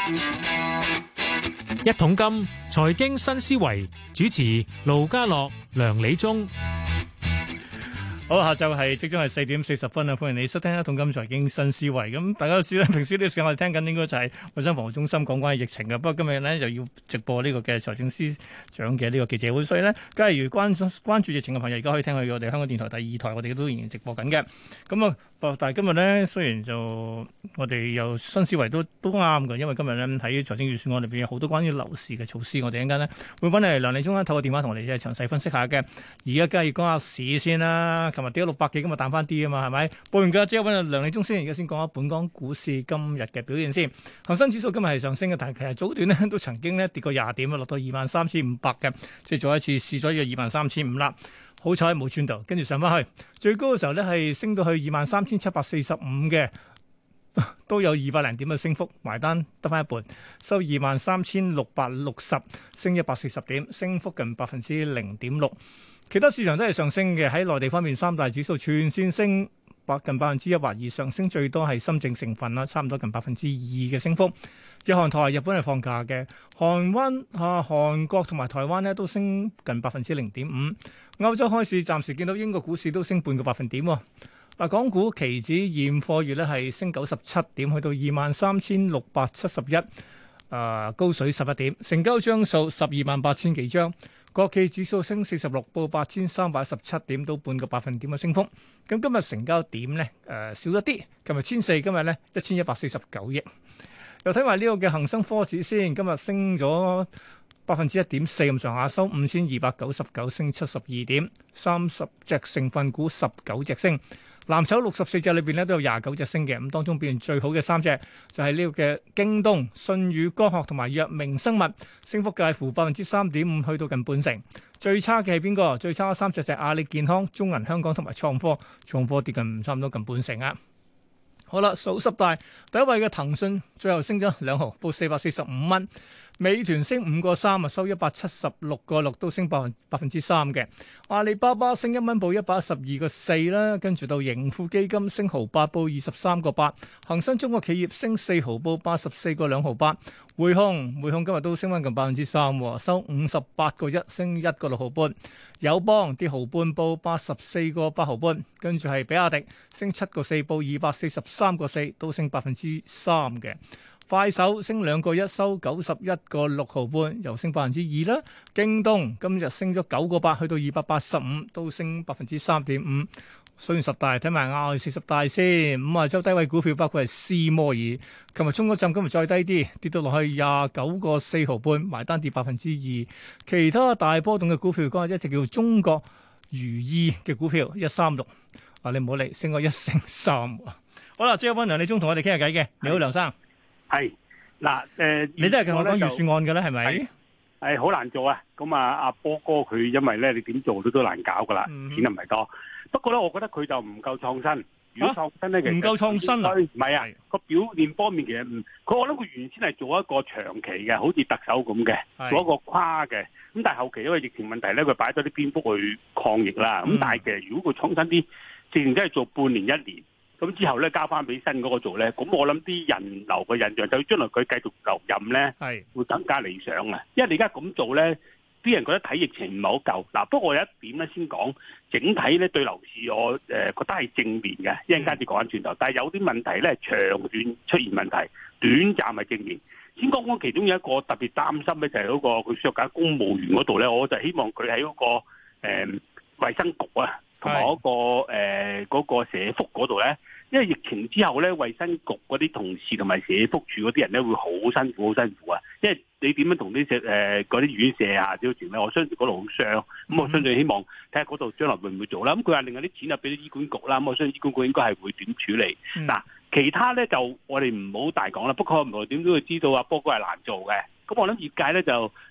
一桶金財經新思維，主持盧家樂、梁理中。 好，下晝係即將係4:40啊！歡迎你收聽《一桶金財經新思維》。咁大家都知啦，平時呢個時間我哋聽緊應該就係衞生防護中心講關於疫情嘅。不過今日咧又要直播呢個嘅財政司長嘅呢個記者會，所以咧，假如關注疫情嘅朋友，而家可以聽去我哋香港電台第二台，我哋都仍然直播緊嘅。咁啊，但係今日咧，雖然就我哋又新思維都啱嘅，因為今日咧睇財政預算案裏邊有好多關於樓市嘅措施，我哋一陣間咧會揾嚟梁理中咧透過電話同我哋詳細分析下嘅。而家梗係要講下市先啦。琴日跌咗600幾，今日彈翻啲啊嘛，係咪？報完價之後揾阿梁理中先，而家先講下本港股市今日嘅表現先。恒生指數今日係上升嘅，但係其實早段咧都曾經咧跌過20點啊，落到23,500嘅，即係再一次試咗呢個23,500啦。好彩冇穿到，跟住上翻去，最高嘅時候咧係升到去23,745嘅，都有200零點嘅升幅，埋單得翻一半，收23,660，升140點，升幅近0.6%。其他市場都係上升嘅，喺內地方面，三大指數全線升近1%或以上，升最多係深證成分啦，差唔多近2%嘅升幅。日韓台日本係放假嘅，韓國同埋台灣咧都升近0.5%。歐洲開市暫時見到英國股市都升半個百分點喎。嗱，港股期指現貨月咧係升97點，去到23,671，高水11點，成交張數128,000幾張。國企指數升46，報8,317點，到半個百分點嘅升幅。咁今日成交點咧少咗啲，琴日1,400，今日咧1,149億。又睇埋呢個嘅恒生科指先，今日升咗1.4%咁上下，收5,299，升72點，30隻成分股19隻升。藍籌64隻裏邊咧都有29隻升嘅，咁當中表現最好嘅3隻就係呢個嘅京東、舜宇光學同埋藥明生物，升幅介乎3.5%去到近半成。最差嘅係邊個？最差嘅3隻就係阿里健康、中銀香港同埋創科跌近差唔多近半成啊！好啦，數十大第一位嘅騰訊最後升咗2毫，報445蚊。美團升5個3啊，收176個6，都升3%嘅。阿里巴巴升1蚊，報112個4啦。跟住到盈富基金升毫8，報23個8。恒生中國企業升4毫，報84個2毫8。匯控今日都升翻近3%，收58個1，升1個6毫半。友邦跌毫半，報84個8毫半。跟住係比亞迪升7個4，報243個4，都升3%嘅。快手升2個1，收91個6毫半，又升2%啦。京東今日升咗9個8，去到285，都升3.5%。數完十大，睇埋亞40大先。亞洲低位股票包括係斯摩爾，琴日衝咗陣，今日再低啲，跌到落去29個4毫半，埋單跌2%。其他大波動嘅股票，講下一隻叫中國如意嘅股票136，你唔好理，升過1成3。好啦，即刻揾梁理中同我哋傾下偈嘅。你好，梁生。 係嗱， 你都係同我講預算案嘅咧，係咪？ 係好難做啊！咁啊，阿波哥佢因為咧，你點做都難搞噶啦，錢又唔係多。不過咧，我覺得佢就唔夠創新。如果創新咧，其實唔夠創新啊？ 唔係啊，個表現方面其實我諗佢原先係做一個長期嘅，好似特首咁嘅，做一個跨嘅。咁但係後期因為疫情問題咧，佢擺咗啲篇幅去抗疫啦。咁但係其實如果佢創新啲，自然真係做半年1年。咁之後咧，交翻俾新嗰個做咧，咁我諗啲人流嘅印象，就將來佢繼續留任咧，會更加理想啊！因為你而家咁做咧，啲人覺得睇疫情唔係好夠。嗱，不過我有一點咧先講，整體咧對樓市我覺得係正面嘅，一陣間先講翻轉頭。但係有啲問題咧，長遠出現問題，短暫係正面。先講講其中有一個特別擔心咧，就係嗰個佢削減公務員嗰度咧，我就希望佢喺嗰個衛生局啊，同埋嗰個社福嗰度咧。因為疫情之後咧，衛生局嗰啲同事同埋社福處嗰啲人咧會好辛苦啊！因為你點樣同啲嗰啲院舍啊啲團咧，我相信嗰度好傷。咁我相信希望睇下嗰度將來會唔會做啦。咁佢話另外啲錢啊俾咗醫管局啦，咁我相信醫管局應該係會點處理。嗱，其他咧就我哋唔好大講啦。不過唔係點都會知道啊，波哥係難做嘅。咁我諗業界咧就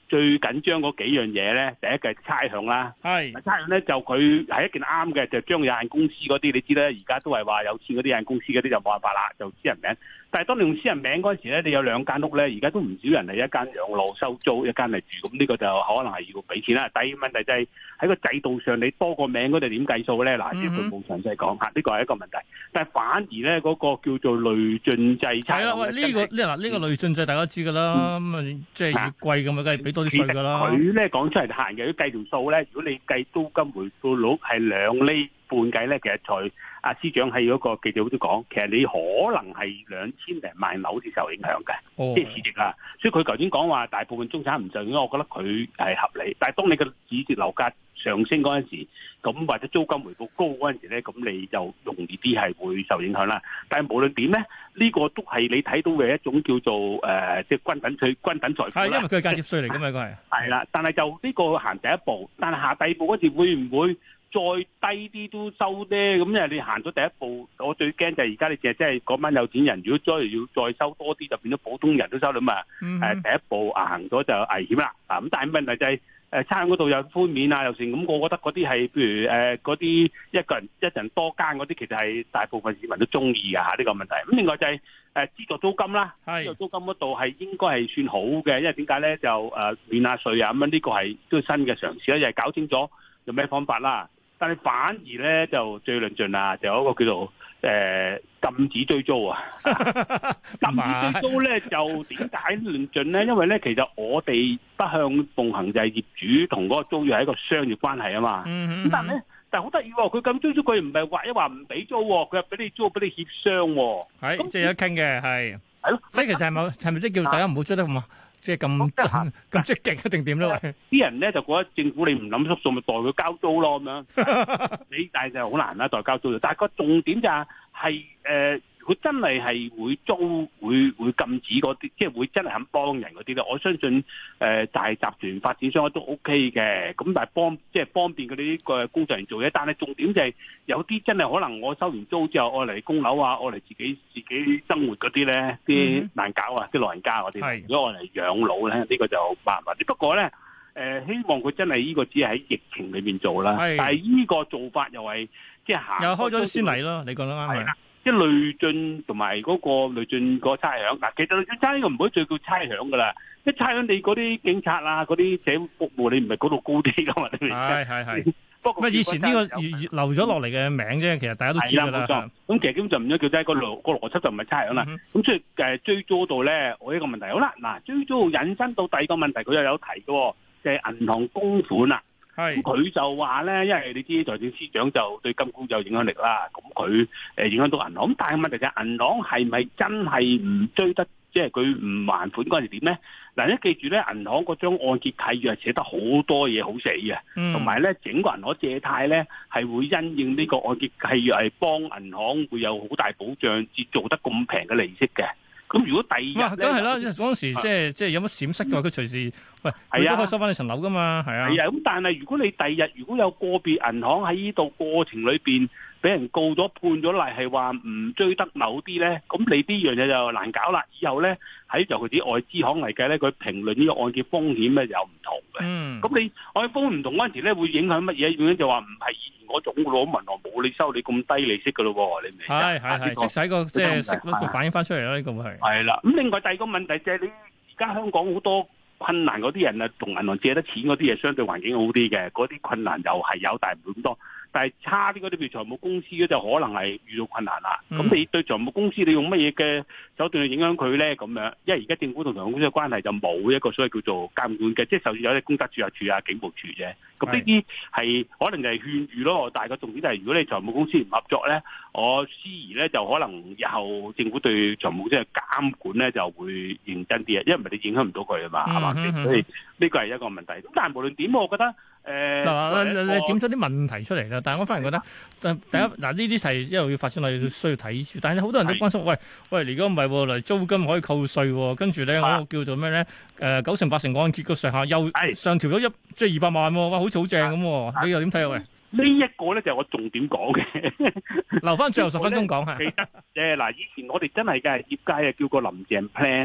最緊張嗰幾樣嘢咧，第一個係差餉啦。 係差餉咧就佢係一件啱嘅，就將有限公司嗰啲，你知啦，而家都係話有錢嗰啲有限公司嗰啲就冇辦法啦，就私人名。但係當你用私人名嗰陣時咧，你有兩間屋咧，而家都唔少人係一間養老收租，一間係住，咁呢個就可能係要俾錢啦。第二個問題就係喺個制度上，你多個名嗰度點計數咧？嗱，即係佢冇詳細講嚇，呢個係一個問題。但係反而咧嗰個叫做累進制差餉， 係啦，喂，呢個累進制大家知㗎啦，咁啊即係越貴咁啊，梗係俾多啲稅㗎啦。 佢咧講出嚟閒嘅，如果計條數咧，如果你計租金回報率係2厘半計咧，其實財阿司長喺嗰個記者會都講，其實你可能係2000零萬樓先受影響嘅，即係市值啊。所以佢頭先講話大部分中產唔受影響，我覺得佢係合理。但係當你個市值樓價上升嗰陣時，咁或者租金回報高嗰陣時咧，咁你就容易啲係會受影響啦。但係無論點咧，呢個都係你睇到嘅一種叫做即係均等財富啦。 係因為佢係間接稅嚟㗎嘛，佢係。 係啦，但係就呢個行第一步，但係下第二步嗰時會唔會再低啲都收咧？咁因為你行咗第一步，我最驚就係而家你淨係即係嗰班有錢人，如果要再收多啲，就變咗普通人都收啦嘛。第一步行咗就危險啦。咁但係問題就係差餉嗰度有寬免啊，又成咁，我覺得嗰啲係譬如嗰啲一人多間嗰啲，其實係大部分市民都中意㗎嚇呢個問題。咁另外就係資助租金啦，資助租金嗰度係應該係算好嘅，因為點解咧就免下稅啊咁樣，呢個係都係新嘅嘗試啦，又係搞清楚有咩方法啦。但係反而咧就最論盡啦，就有一個叫做禁止追租啊！禁止追租咧就點解論盡咧？因為咧其實我哋不向奉行就係業主同嗰個租約係一個商業關係啊嘛。咁但係咧，但係好得意喎，佢禁租佢唔係話一話唔俾租，佢係俾你租，俾你協商喎。係，咁即係有傾嘅，係。係咯，所以其實係咪即係叫大家唔好追得咁啊？即係咁積極一定點咧？啲人咧就覺得政府你唔諗縮數，咪代佢交租咯咁樣。你但係就好難啦，代交租。但係個重點就係佢真係會租會禁止嗰啲，即係會真係肯幫人嗰啲咧。我相信大集團發展商都 OK 嘅。咁但係方便佢哋呢個工作人員做嘢。但係重點就係有啲真係可能我收完租之後，愛嚟供樓啊，愛嚟自己生活嗰啲咧，啲難搞啊，啲老人家嗰啲。如果愛嚟養老咧，呢個就麻煩啲。不過咧，希望佢真係呢個只係喺疫情裏面做啦。但係呢個做法又係即係行又開咗啲先例咯。你講得啱係。即係累進同埋嗰個累進個差餉嗱，其實累進差呢個唔可以再叫差餉噶啦，即係差餉你嗰啲警察啊，嗰啲社會服務你唔係嗰度高啲噶嘛？係。不過以前呢個留咗落嚟嘅名啫，其實大家都知㗎啦。冇錯。咁其實根本就唔應該叫個邏輯就唔係差餉啦。咁所以追租度咧，我呢個問題好啦。嗱，追租引申到第二個問題，佢又有提嘅，就係銀行供款啦。咁佢就話咧，因為你知財政司長就對金管局有影響力啦，咁佢影響到銀行。咁但係問題就係銀行係咪真係唔追得，即係佢唔還款嗰陣時點咧？嗱，你記住咧，銀行嗰張按揭契約係寫得好多嘢好死嘅，同埋咧整個銀行借貸咧係會因應呢個按揭契約係幫銀行會有好大保障，至做得咁平嘅利息嘅。咁如果第二日咧，梗係啦，嗰陣時即係有乜閃失嘅話，佢隨時喂，佢都可以收翻你層樓噶嘛，係啊。係啊，咁但係如果你第二日如果有個別銀行喺呢度過程裏邊俾人告咗判咗例，係話唔追得某啲咧，咁你呢樣嘢就難搞啦。以後咧喺尤其啲外資行嚟計咧，佢評論呢個按揭風險咧有唔同嘅。咁你按揭風險唔同嗰陣時咧，會影響乜嘢？影響就話唔係以前嗰種嘅咯，銀行冇你收你咁低利息嘅咯喎，你明？係，即使個即係息率就反映翻出嚟啦，呢個會係。係啦，咁另外第二個問題就係你而家香港好多困難嗰啲人啊，同銀行借得錢嗰啲嘢相對環境好啲嘅，嗰啲困難又係有，但係唔會咁多。但係差啲嗰啲，譬如財務公司咧，就可能係遇到困難啦。咁你對財務公司，你用乜嘢嘅手段去影響佢咧？咁樣，因為而家政府同財務公司嘅關係就冇一個所謂叫做監管嘅，即係就算有啲公德註冊處啊、警務處啫。咁呢啲係可能就係勸喻咯。但係個重點就係，如果你財務公司唔合作咧，我思疑咧就可能日後政府對財務公司嘅監管咧就會認真啲啊，因為唔係你影響唔到佢啊嘛，係嘛？所以呢個係一個問題。咁但係無論點，我覺得。你點咗啲問題出嚟啦？但係我反而覺得，第一嗱呢啲係一路要發展落去需要睇住。但係好多人都關心，喂，如果唔係嚟租金可以扣稅，跟住咧嗰個叫做咩咧？9成8成按揭個上限又上調咗即係200萬喎，哇，好似好正咁。你又點睇啊？喂，呢一個咧就係我重點講嘅，留翻最後10分鐘講下。記得嗱，以前我哋真係嘅業界叫個林鄭 plan。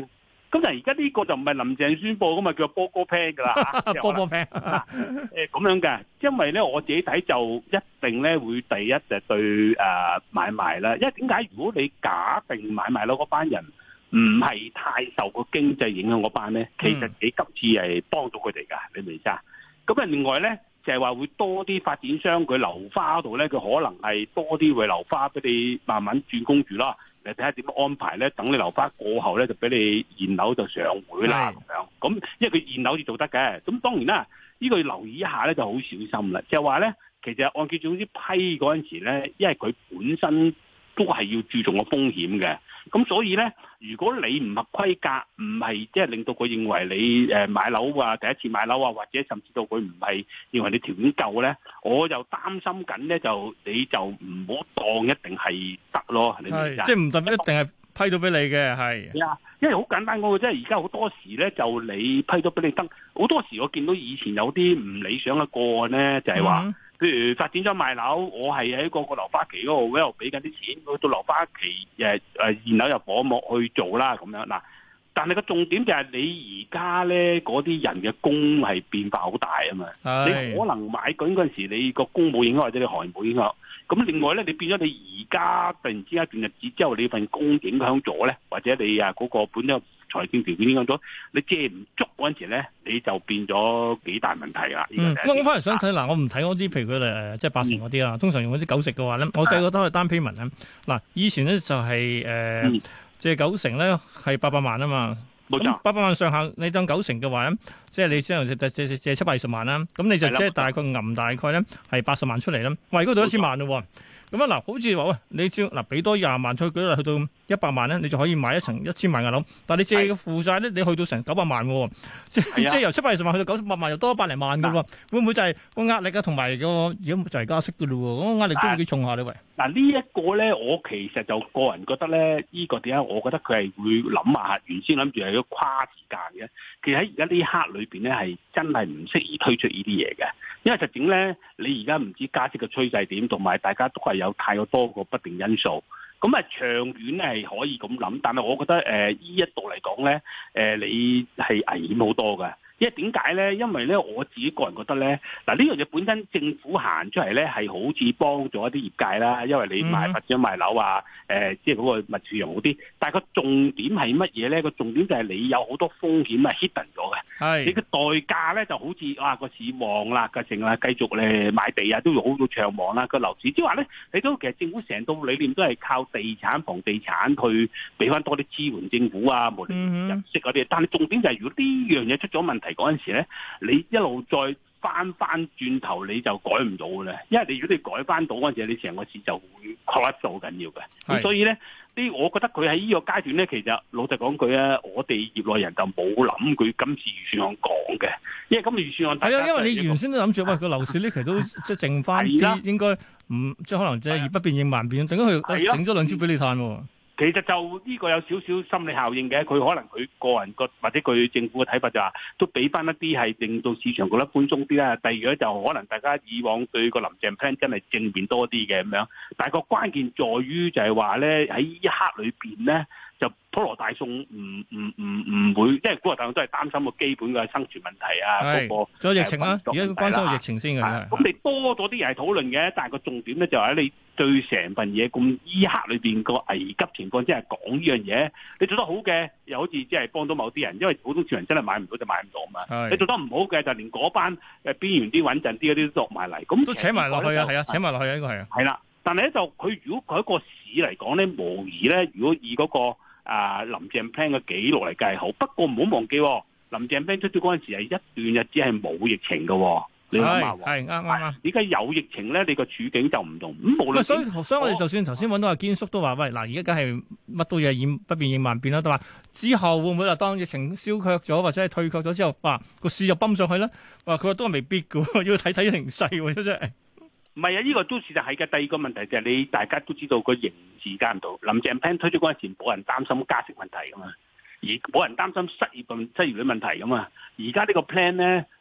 咁但係而家呢個就唔係林鄭宣佈噶嘛，叫波哥 plan 噶啦嚇， 波波 plan 咁樣嘅，因為咧我自己睇就一定咧會第一就對買賣啦，因為點解？如果你假定買賣樓嗰班人唔係太受個經濟影響嗰班咧，其實你今次係幫到佢哋㗎，你明唔明啫？咁啊，另外咧就係話會多啲發展商佢樓花度咧，佢可能係多啲會樓花俾你慢慢轉工住啦。你睇下點樣安排咧？等你樓花過後咧，就俾你現樓就上會啦咁樣。咁因為佢現樓至做得嘅，咁當然啦，呢個要留意一下咧，就好小心啦。就係話咧，其實按揭總之批嗰陣時咧，因為佢本身都係要注重個風險嘅，咁所以咧，如果你唔合規格，唔係即係令到佢認為你買樓啊，第一次買樓啊，或者甚至到佢唔係認為你條件夠咧，我就擔心緊咧，你就唔好當一定係得咯，你明唔明？ 即係唔代表一定係批到俾你嘅，係啊，因為好簡單講嘅，即係而家好多時咧，就你批到俾你得，好多時我見到以前有啲唔理想嘅個案咧，就係話。譬如發展咗賣樓，我係喺個樓花期嗰度喺度俾緊啲錢，到樓花期現樓入伙幕去做啦咁樣嗱。但係個重點就係你而家咧嗰啲人嘅工係變化好大啊嘛。你可能買緊嗰陣時，你個工冇影響或者你行業冇影響。咁另外咧，你變咗你而家突然之間一段日子之後，你份工影響咗咧，或者你嗰個本身財政條件影響咗，你借唔足嗰陣時咧，你就變咗幾大問題啦。 咁我翻嚟想睇嗱，我唔睇嗰啲，譬如佢哋即係80嗰啲啦，通常用嗰啲90嘅話咧，我計覺得係單 payment 咧。嗱，以前咧就係借90咧係800萬啊嘛。冇錯，800萬上限，你當90嘅話咧，即係你之後借720萬啦，咁你就即係大概揞大概咧係80萬出嚟啦。喂，嗰度1000萬咯喎。咁啊嗱，好似話喂，你只要嗱俾多20萬出去，舉例去到100萬咧，你就可以買一層1000萬嘅樓。但係你借嘅負債咧，你去到成900萬喎，即係由720萬去到900萬，又多100零萬嘅喎。會唔會就係個壓力啊？同埋個而家就係加息嘅咯喎，嗰個壓力都會幾重下你喂。 嗱呢一個咧，我其實就個人覺得咧，呢個點解我覺得佢係會諗下，原先諗住係要跨時間嘅。其實喺而家呢一刻裏邊咧，係真係唔適宜推出呢啲嘢嘅，因為實情咧，你而家唔知加息嘅趨勢點，同埋大家都係有太過多個不定因素。咁啊，長遠咧係可以咁諗，但係我覺得呢一度嚟講咧，你係危險好多㗎。因為點解咧？因為咧，我自己個人覺得咧，嗱呢樣嘢本身政府行出嚟咧，係好似幫咗一啲業界啦。因為你發展賣樓啊，即係嗰個物市場好啲。但係個重點係乜嘢咧？個重點就係你有好多風險係 hidden 咗嘅。係你嘅代價咧，就好似個市旺啦，個成啦，繼續咧買地啊，都要好到暢旺啦。個樓市即係話咧，你都其實政府成套理念都係靠地產、房地產去俾翻多啲支援政府啊，無論入息嗰啲。但係重點就係如果呢樣嘢出咗問題嗰陣時咧，你一路再翻轉頭你就改唔到嘅咧，因為你如果你改翻到嗰陣時，你成個市就會 collapse 好緊要嘅。咁所以咧，我覺得佢喺呢個階段咧，其實老實講句啊，我哋業內人就冇諗佢今次預算案講嘅，因為今次預算案係啊， 因為你原先都諗住喂個樓市呢期都即係剩翻啲，應該唔即係可能即係以不變應萬變，等佢整咗兩招俾你嘆喎。 其實就呢個有少少心理效應嘅，佢可能佢個人或者佢政府嘅睇法就話，都俾翻一啲係令到市場覺得寬鬆啲啦。第二咧就可能大家以往對個林鄭 plan 真係正面多啲嘅咁樣，但係個關鍵在於就係話咧喺呢一刻裏邊咧，就普羅大眾唔會，即係普羅大眾都係擔心個基本嘅生存問題啊，嗰個仲有疫情啦，而家關心個疫情先嘅。咁你多咗啲人係討論嘅，但係個重點咧就係你對成份嘢咁依刻裏邊個危急情況之下講呢樣嘢，你做得好嘅又好似即係幫到某啲人，因為普通市民真係買唔到就買唔到嘛。你做得唔好嘅就連嗰班邊緣啲穩陣啲嗰啲都落埋嚟，咁都扯埋落去啊，係啊，扯埋落去啊，呢個係啊。 係啦，但係咧就佢如果佢一個市嚟講咧，無疑咧，如果以嗰個林鄭 plan 嘅記錄嚟計好，不過唔好忘記，林鄭 plan 出咗嗰陣時係一段日子係冇疫情嘅，你諗下喎。係啱。而家有疫情咧，你個處境就唔同。咁無論所以我哋就算頭先揾到阿堅叔都話，喂嗱，而家梗係乜都嘢不變應萬變啦，都話之後會唔會話當疫情消卻咗或者係退卻咗之後，哇個市就泵上去咧？哇佢話都係未必嘅，要睇睇形勢喎，真係。 唔係啊！呢個都事實係嘅。第二個問題就係你大家都知道個形勢間唔到。林鄭 plan 推出嗰陣時，冇人擔心加息問題噶嘛，而冇人擔心失業率問題噶嘛。而家呢個 plan 咧，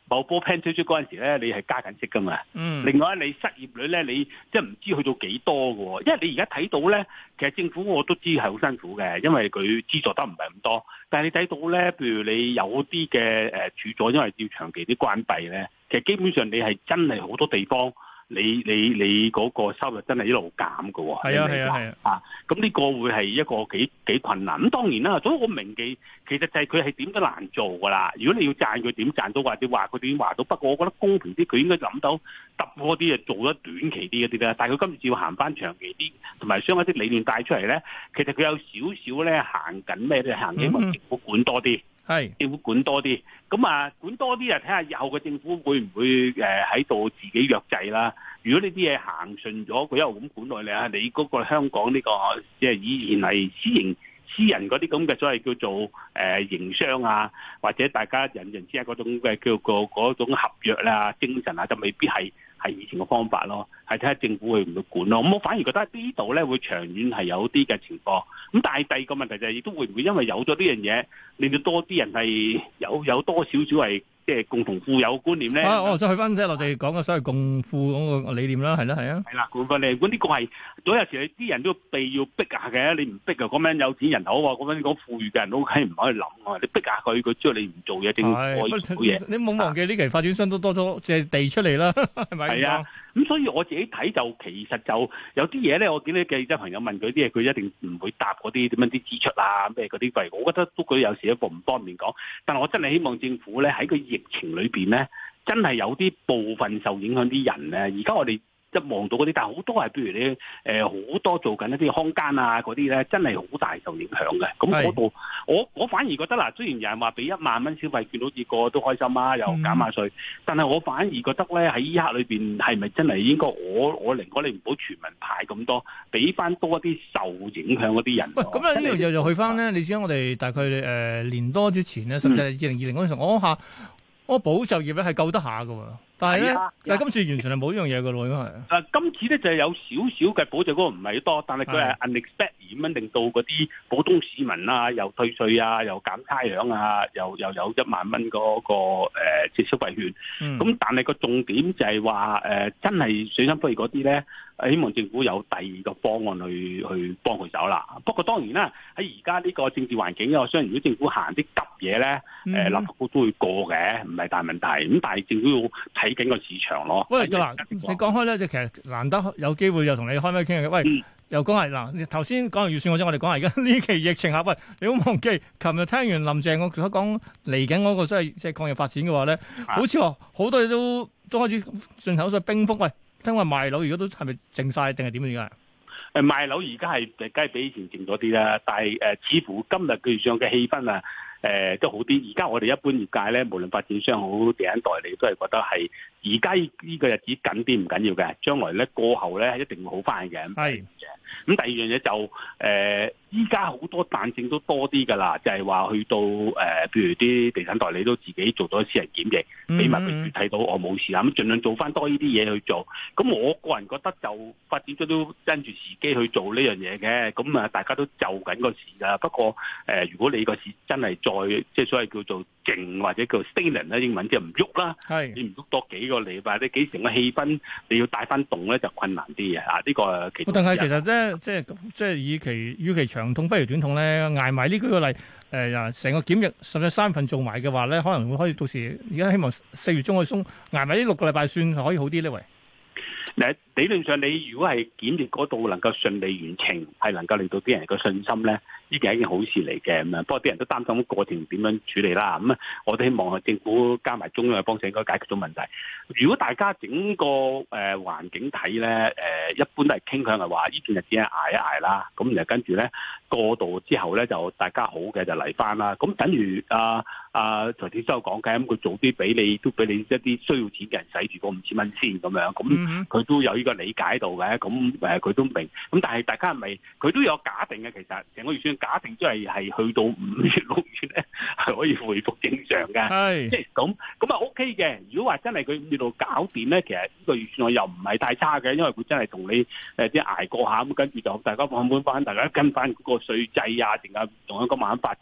某波 plan 推出嗰陣時咧，你係加緊息噶嘛。另外你失業率咧，你即係唔知去到幾多嘅喎。因為你而家睇到咧，其實政府我都知係好辛苦嘅，因為佢資助得唔係咁多。但係你睇到咧，譬如你有啲嘅處所，因為要長期啲關閉咧，其實基本上你係真係好多地方。你嗰個收入真係一路減㗎喎，係啊，咁呢個會係一個幾困難。咁當然啦，所以我明記其實就係佢係點都難做㗎啦。如果你要賺佢點賺到，或者話佢點話到，不過我覺得公平啲，佢應該諗到揼嗰啲嘢做得短期啲嗰啲啦。但係佢今次要行翻長期啲，同埋將一啲理念帶出嚟咧，其實佢有少少咧行緊咩咧？行緊政府管多啲。政府管多啲，咁管多啲啊！睇下以後嘅政府會唔會喺度自己約制啦？如果呢啲嘢行順咗，佢一路咁管落嚟啊！你嗰個香港呢個即係以前係私人嗰啲咁嘅所謂叫做營商啊，或者大家人之間嗰種嘅叫做嗰種合約啦、精神啊，就未必係以前嘅方法咯，係睇下政府會唔會管咯。咁我反而覺得呢度咧會長遠係有啲嘅情況。咁但係第二個問題就係亦都會唔會因為有咗呢樣嘢，令到多啲人係有多少少係即係共同富有觀念咧？ 再去翻即係我哋講嘅所謂共富嗰個理念啦，係啦，係啊。係啦，共富理念，呢個係，所以有時啲人都要逼下嘅，你唔逼啊，咁樣有錢人好啊，咁樣講富裕嘅人都係唔可以諗啊，你逼下佢知道你唔做嘢，政府可以做嘢。 你冇忘記呢期發展商都多咗借地出嚟啦，係咪？ 係啊。咁所以我自己睇就其實就有啲嘢咧，我見啲記者朋友問佢啲嘢，佢一定唔會答嗰啲點樣啲支出啊咩嗰啲費，我覺得都佢有時一步唔方便講。但係我真係希望政府咧喺個疫情裏邊咧，真係有啲部分受影響啲人咧，而家我哋一望到嗰啲，但係好多係譬如你好多做緊一啲康間啊嗰啲咧，真係好大受影響嘅。咁嗰度我反而覺得嗱，雖然有人話俾1萬蚊消費券，好似個個都開心啊，又減下稅，但係我反而覺得咧喺依刻裏邊係咪真係應該我寧可你唔好全民派咁多，俾翻多一啲受影響嗰啲人。 喂，咁呢樣又去翻咧？你知我哋大概年多之前咧，甚至係2020嗰陣時，我保就業咧係救得下㗎喎。但係咧，但係今次完全係冇呢樣嘢㗎咯，應該係。 今次咧就係有少少嘅保障，嗰個唔係多，但係佢係 unexpected 咁樣令到嗰啲普通市民啊，又退稅啊，又減差餉啊，又有1萬蚊嗰個即消費券。咁但係個重點就係話真係水深火熱嗰啲咧，希望政府有第二個方案去幫佢手啦。不過當然啦，喺而家呢個政治環境，我相信如果政府行啲急嘢咧，立法會都會過嘅，唔係大問題。咁但係政府要睇緊個市場咯。 喂，嗱，你講開咧，就其實難得有機會又同你開咪傾嘅。喂，又講係嗱，頭先講完預算，我哋講下而家呢期疫情下，喂，你好忘記，琴日聽完林鄭我所講嚟緊嗰個即係抗疫發展嘅話咧，好似話好多嘢都開始進口所謂冰封。喂，聽話賣樓而家都係咪靜晒定係點樣㗎？ 賣樓而家係梗係比以前靜咗啲啦，但係似乎今日佢上嘅氣氛啊，都好啲。而家我哋一般業界咧，無論發展商好、地產代理都係覺得係而家呢個日子緊啲唔緊要嘅，將來咧過後咧一定會好翻嘅。係。咁第二樣嘢就依家好多彈性都多啲㗎啦，就係話去到譬如啲地產代理都自己做咗私人檢疫，俾埋佢睇到我冇事啦，咁盡量做翻多呢啲嘢去做。咁我個人覺得就發展咗都跟住時機去做呢樣嘢嘅，咁大家都就緊個市㗎。不過如果你個市真係再即係所謂叫做靜或者叫 stagnant 咧，英文即係唔喐啦，你唔喐多幾個禮拜，你幾成個氣氛你要帶翻動咧就困難啲嘅。呢個其實但係其實咧，即係與其長痛不如短痛咧，捱埋呢幾個例成個檢疫甚至3份做埋嘅話咧，可能會可以到時而家希望4月中可以鬆，捱埋呢6個禮拜算可以好啲呢？喂， 理論上你如果係檢疫嗰度能夠順利完成，係能夠令到啲人嘅信心咧，呢件係一件好事嚟嘅。咁啊，不過啲人都擔心過程點樣處理啦。咁啊，我都希望政府加埋中央嘅幫手，應該解決到問題。如果大家整個環境睇咧，一般都係傾向係話呢段日子係捱一捱啦。咁然後跟住咧過渡之後咧，就大家好嘅就嚟翻啦。咁等於財政司講嘅，咁佢早啲俾你，都俾你一啲需要錢嘅人使住嗰5000蚊先咁樣。咁佢都有呢個理解到嘅。咁佢都明。咁但係大家係咪佢都有假定嘅？其實成個預算假定都係去到5月6月咧係可以恢復正常嘅。即係咁啊 OK 嘅。如果話真係佢5月度搞掂咧，其實呢個預算又唔係太差嘅，因為佢真係同你即係捱過下咁，跟住就大家放寬翻，大家跟翻嗰個稅制啊，定係同一個慢慢發展好。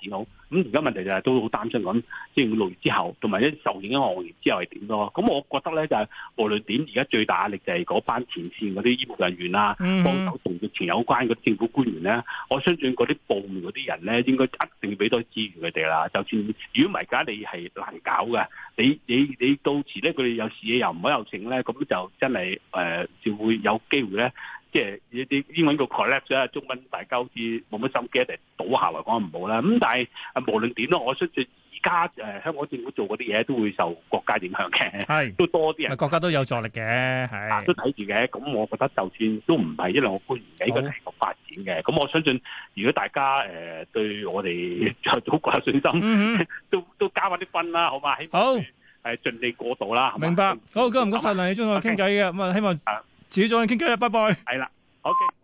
咁而家問題就係都好擔心咁，即係6月之後，同埋一受影響行業之後係點咯？咁我覺得咧就係無論點，而家最大壓力就係嗰班前線嗰啲醫務人員啦，幫手同疫情有關嗰啲政府官員咧，我相信嗰啲部門嗰啲人咧，應該一定要俾多資源佢哋啦。就算如果唔係，而家你係難搞嘅，你到時咧佢哋有事又唔可以有成咧，咁就真係就會有機會咧。即係啲英文個 collapse 啊，中文大家好似冇乜心機，一定倒下嚟講唔好啦。咁但係無論點咯，我相信而家香港政府做嗰啲嘢都會受國家影響嘅，係都多啲人。 國家都有助力嘅，係都睇住嘅。咁我覺得就算都唔係一兩個官員嘅，應該係個發展嘅。咁我相信，如果大家對我哋祖國有信心，都加翻啲分啦，好嘛？希望好盡力過渡啦。 明白。好，今日唔該曬梁理中同我傾偈嘅，咁啊希望。遲啲再傾偈啦，拜拜。 係啦，OK。